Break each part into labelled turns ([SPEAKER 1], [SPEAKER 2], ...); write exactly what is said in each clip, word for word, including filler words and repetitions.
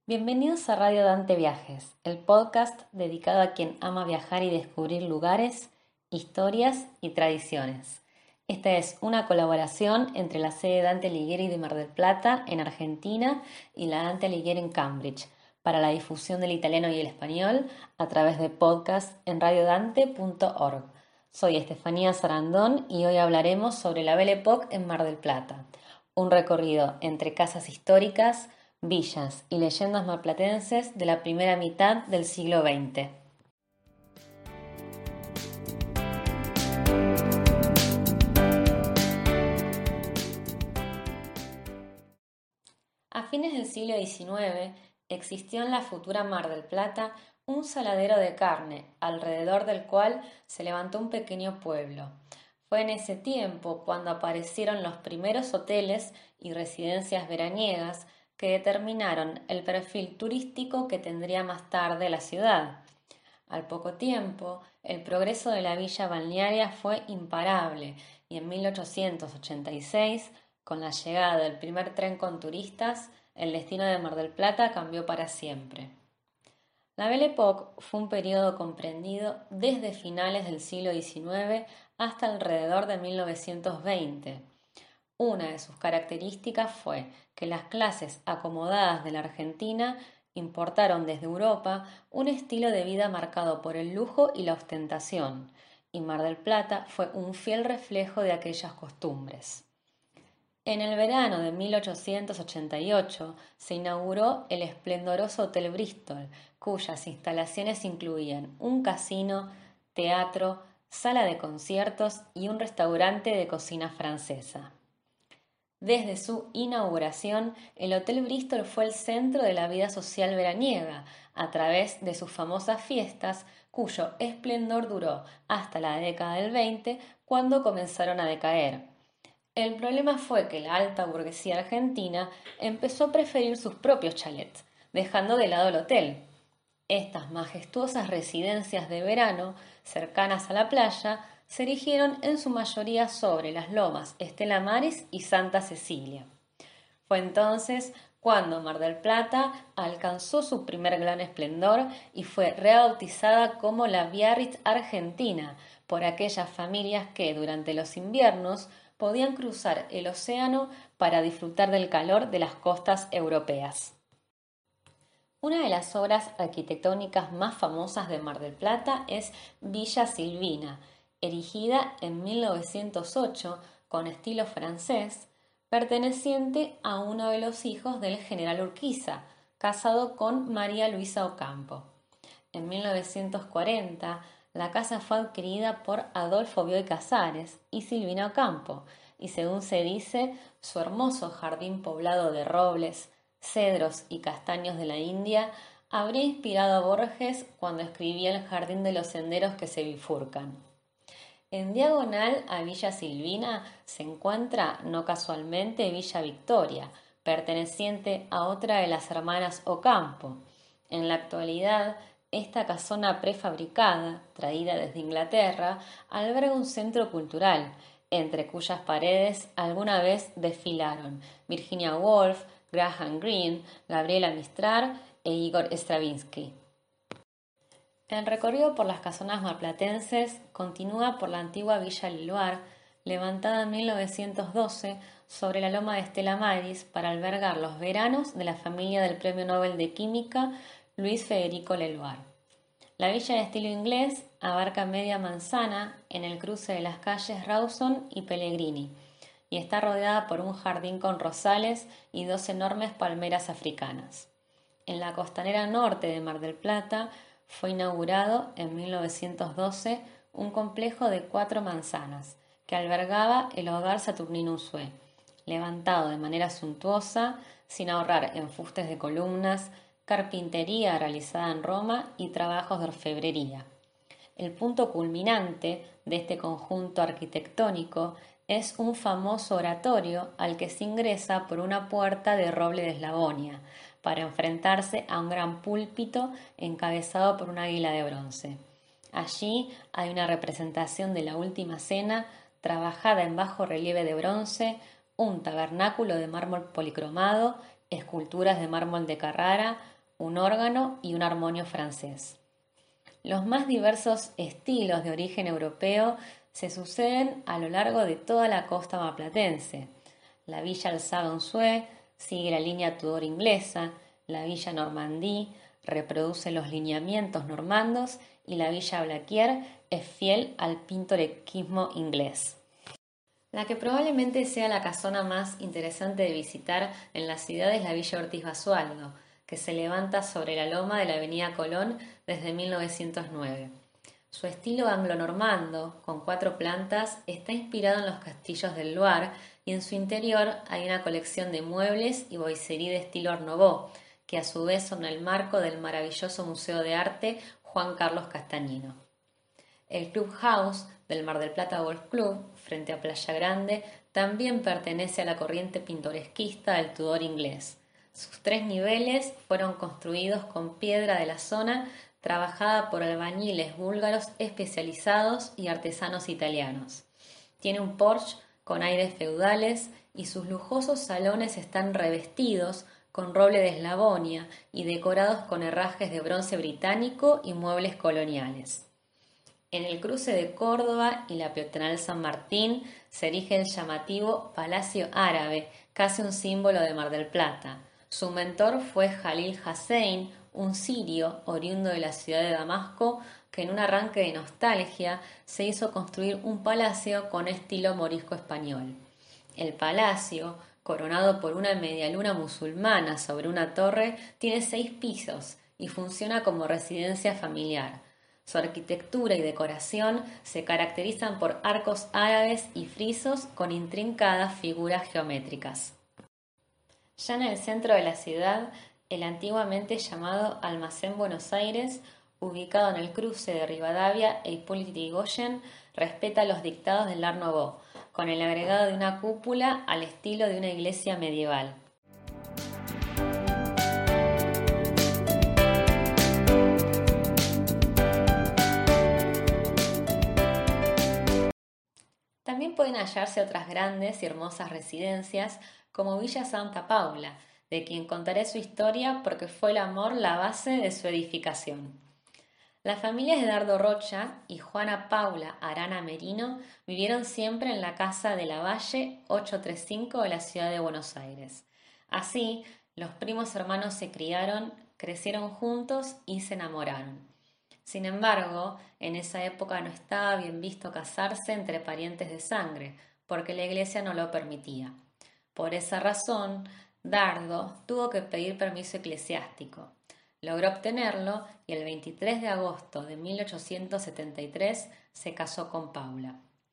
[SPEAKER 1] Bienvenidos a Radio Dante Viajes, el podcast dedicado a quien ama viajar y descubrir lugares, historias y tradiciones. Esta es una colaboración entre la sede Dante Alighieri de Mar del Plata, en Argentina, y la Dante Alighieri en Cambridge, para la difusión del italiano y el español a través de podcast en radiodante punto org. Soy Estefanía Sarandón y hoy hablaremos sobre la Belle Époque en Mar del Plata, un recorrido entre casas históricas, villas y leyendas marplatenses de la primera mitad del siglo veinte. A fines del siglo diecinueve existió en la futura Mar del Plata un saladero de carne, alrededor del cual se levantó un pequeño pueblo. Fue en ese tiempo cuando aparecieron los primeros hoteles y residencias veraniegas que determinaron el perfil turístico que tendría más tarde la ciudad. Al poco tiempo, el progreso de la villa balnearia fue imparable y en mil ochocientos ochenta y seis, con la llegada del primer tren con turistas, el destino de Mar del Plata cambió para siempre. La Belle Époque fue un periodo comprendido desde finales del siglo diecinueve hasta alrededor de mil novecientos veinte. Una de sus características fue que las clases acomodadas de la Argentina importaron desde Europa un estilo de vida marcado por el lujo y la ostentación, y Mar del Plata fue un fiel reflejo de aquellas costumbres. En el verano de mil ochocientos ochenta y ocho se inauguró el esplendoroso Hotel Bristol, cuyas instalaciones incluían un casino, teatro, sala de conciertos y un restaurante de cocina francesa. Desde su inauguración, el Hotel Bristol fue el centro de la vida social veraniega, a través de sus famosas fiestas, cuyo esplendor duró hasta la década del veinte, cuando comenzaron a decaer. El problema fue que la alta burguesía argentina empezó a preferir sus propios chalets, dejando de lado el hotel. Estas majestuosas residencias de verano, cercanas a la playa, se erigieron en su mayoría sobre las lomas Estela Maris y Santa Cecilia. Fue entonces cuando Mar del Plata alcanzó su primer gran esplendor y fue rebautizada como la Biarritz Argentina por aquellas familias que durante los inviernos podían cruzar el océano para disfrutar del calor de las costas europeas. Una de las obras arquitectónicas más famosas de Mar del Plata es Villa Silvina, erigida en mil novecientos ocho con estilo francés, perteneciente a uno de los hijos del general Urquiza, casado con María Luisa Ocampo. En mil novecientos cuarenta, la casa fue adquirida por Adolfo Bioy Casares y Silvina Ocampo, y según se dice, su hermoso jardín poblado de robles, cedros y castaños de la India habría inspirado a Borges cuando escribía El jardín de los senderos que se bifurcan. En diagonal a Villa Silvina se encuentra, no casualmente, Villa Victoria, perteneciente a otra de las hermanas Ocampo. En la actualidad, esta casona prefabricada, traída desde Inglaterra, alberga un centro cultural, entre cuyas paredes alguna vez desfilaron Virginia Woolf, Graham Greene, Gabriela Mistral e Igor Stravinsky. El recorrido por las casonas marplatenses continúa por la antigua Villa Liloire, levantada en mil novecientos doce sobre la loma de Estela Maris para albergar los veranos de la familia del Premio Nobel de Química Luis Federico Leloir. La villa de estilo inglés abarca media manzana en el cruce de las calles Rawson y Pellegrini y está rodeada por un jardín con rosales y dos enormes palmeras africanas. En la costanera norte de Mar del Plata fue inaugurado en mil novecientos doce un complejo de cuatro manzanas que albergaba el hogar Saturnino Usue, levantado de manera suntuosa, sin ahorrar en fustes de columnas, carpintería realizada en Roma y trabajos de orfebrería. El punto culminante de este conjunto arquitectónico es un famoso oratorio al que se ingresa por una puerta de roble de Eslabonia, para enfrentarse a un gran púlpito encabezado por un águila de bronce. Allí hay una representación de la Última Cena trabajada en bajo relieve de bronce, un tabernáculo de mármol policromado, esculturas de mármol de Carrara, un órgano y un armonio francés. Los más diversos estilos de origen europeo se suceden a lo largo de toda la costa maplatense. La villa Alzado-Unzué sigue la línea Tudor inglesa, la villa Normandí reproduce los lineamientos normandos y la villa Blaquier es fiel al pintoresquismo inglés. La que probablemente sea la casona más interesante de visitar en la ciudad es la Villa Ortiz Basualdo, que se levanta sobre la loma de la Avenida Colón desde mil novecientos nueve. Su estilo anglo-normando, con cuatro plantas, está inspirado en los castillos del Loire y en su interior hay una colección de muebles y boiserie de estilo Art Nouveau, que a su vez son el marco del maravilloso Museo de Arte Juan Carlos Castañino. El Club House del Mar del Plata Golf Club, frente a Playa Grande, también pertenece a la corriente pintoresquista del Tudor inglés. Sus tres niveles fueron construidos con piedra de la zona, trabajada por albañiles búlgaros especializados y artesanos italianos. Tiene un porche con aires feudales y sus lujosos salones están revestidos con roble de Eslavonia y decorados con herrajes de bronce británico y muebles coloniales. En el cruce de Córdoba y la peatonal San Martín se erige el llamativo Palacio Árabe, casi un símbolo de Mar del Plata. Su mentor fue Jalil Hussein, un sirio oriundo de la ciudad de Damasco, que en un arranque de nostalgia se hizo construir un palacio con estilo morisco español. El palacio, coronado por una medialuna musulmana sobre una torre, tiene seis pisos y funciona como residencia familiar. Su arquitectura y decoración se caracterizan por arcos árabes y frisos con intrincadas figuras geométricas. Ya en el centro de la ciudad, el antiguamente llamado Almacén Buenos Aires, ubicado en el cruce de Rivadavia e Hipólito Yrigoyen, respeta los dictados del Art Nouveau, con el agregado de una cúpula al estilo de una iglesia medieval. También pueden hallarse otras grandes y hermosas residencias como Villa Santa Paula, de quien contaré su historia porque fue el amor la base de su edificación. Las familias de Dardo Rocha y Juana Paula Arana Merino vivieron siempre en la casa de la Valle ochocientos treinta y cinco de la ciudad de Buenos Aires. Así, los primos hermanos se criaron, crecieron juntos y se enamoraron. Sin embargo, en esa época no estaba bien visto casarse entre parientes de sangre, porque la iglesia no lo permitía. Por esa razón, Dardo tuvo que pedir permiso eclesiástico. Logró obtenerlo y el veintitrés de agosto de mil ochocientos setenta y tres se casó con Paula.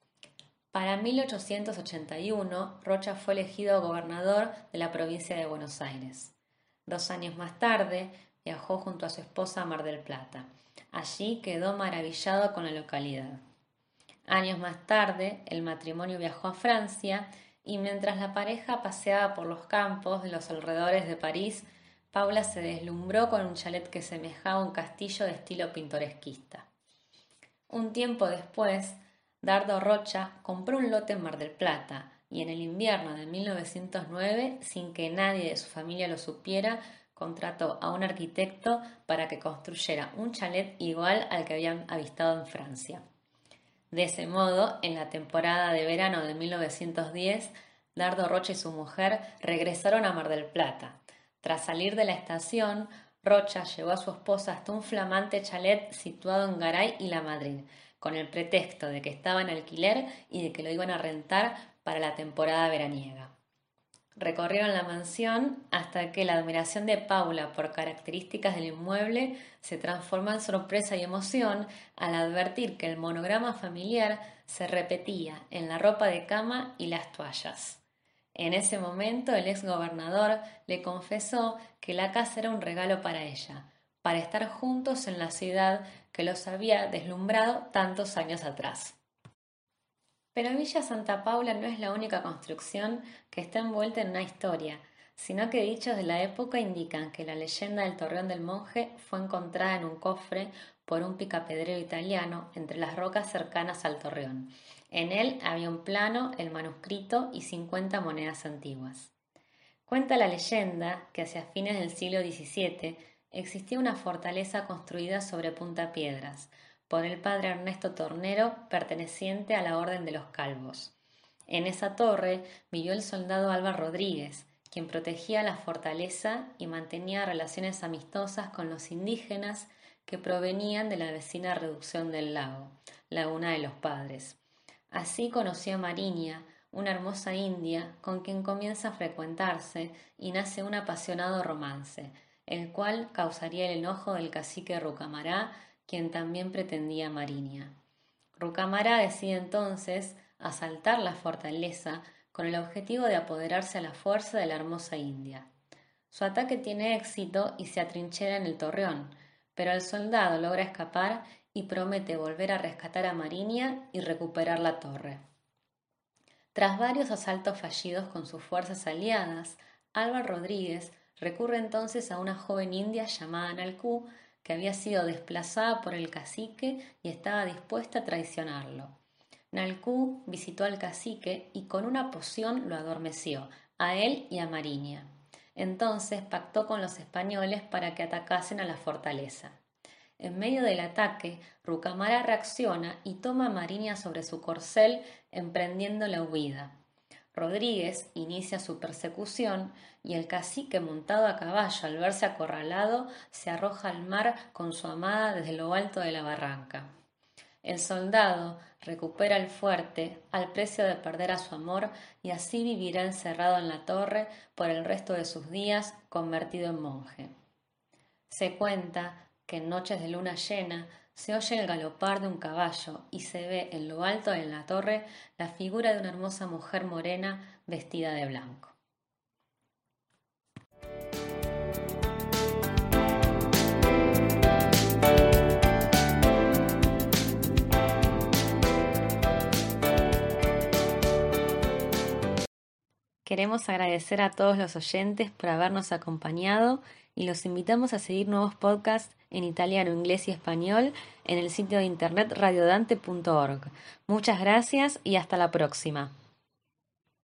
[SPEAKER 1] Para mil ochocientos ochenta y uno, Rocha fue elegido gobernador de la provincia de Buenos Aires. Dos años más tarde, viajó junto a su esposa a Mar del Plata. Allí quedó maravillado con la localidad. Años más tarde, el matrimonio viajó a Francia y mientras la pareja paseaba por los campos de los alrededores de París, Paula se deslumbró con un chalet que semejaba un castillo de estilo pintoresquista. Un tiempo después, Dardo Rocha compró un lote en Mar del Plata y en el invierno de mil novecientos nueve, sin que nadie de su familia lo supiera, contrató a un arquitecto para que construyera un chalet igual al que habían avistado en Francia. De ese modo, en la temporada de verano de mil novecientos diez, Dardo Rocha y su mujer regresaron a Mar del Plata. Tras salir de la estación, Rocha llevó a su esposa hasta un flamante chalet situado en Garay y La Madrid, con el pretexto de que estaba en alquiler y de que lo iban a rentar para la temporada veraniega. Recorrieron la mansión hasta que la admiración de Paula por características del inmueble se transformó en sorpresa y emoción al advertir que el monograma familiar se repetía en la ropa de cama y las toallas. En ese momento el ex gobernador le confesó que la casa era un regalo para ella, para estar juntos en la ciudad que los había deslumbrado tantos años atrás. Pero Villa Santa Paula no es la única construcción que está envuelta en una historia, sino que dichos de la época indican que la leyenda del Torreón del Monje fue encontrada en un cofre por un picapedrero italiano entre las rocas cercanas al Torreón. En él había un plano, el manuscrito y cincuenta monedas antiguas. Cuenta la leyenda que hacia fines del siglo diecisiete, existía una fortaleza construida sobre puntapiedras por el padre Ernesto Tornero, perteneciente a la Orden de los Calvos. En esa torre vivió el soldado Alba Rodríguez, quien protegía la fortaleza y mantenía relaciones amistosas con los indígenas que provenían de la vecina reducción del lago, Laguna de los Padres. Así conoció a Mariña, una hermosa india con quien comienza a frecuentarse y nace un apasionado romance, el cual causaría el enojo del cacique Rucamará, quien también pretendía a Mariña. Rucamará decide entonces asaltar la fortaleza con el objetivo de apoderarse a la fuerza de la hermosa india. Su ataque tiene éxito y se atrinchera en el torreón, pero el soldado logra escapar y promete volver a rescatar a Mariña y recuperar la torre. Tras varios asaltos fallidos con sus fuerzas aliadas, Alba Rodríguez recurre entonces a una joven india llamada Nalcú, que había sido desplazada por el cacique y estaba dispuesta a traicionarlo. Nalcú visitó al cacique y con una poción lo adormeció, a él y a Mariña. Entonces pactó con los españoles para que atacasen a la fortaleza. En medio del ataque, Rucamará reacciona y toma a Mariña sobre su corcel, emprendiendo la huida. Rodríguez inicia su persecución y el cacique, montado a caballo, al verse acorralado, se arroja al mar con su amada desde lo alto de la barranca. El soldado recupera el fuerte al precio de perder a su amor y así vivirá encerrado en la torre por el resto de sus días, convertido en monje. Se cuenta que en noches de luna llena se oye el galopar de un caballo y se ve en lo alto de la torre la figura de una hermosa mujer morena vestida de blanco. Queremos agradecer a todos los oyentes por habernos acompañado y los invitamos a seguir nuevos podcasts en italiano, inglés y español en el sitio de internet radiodante punto org. Muchas gracias y hasta la próxima.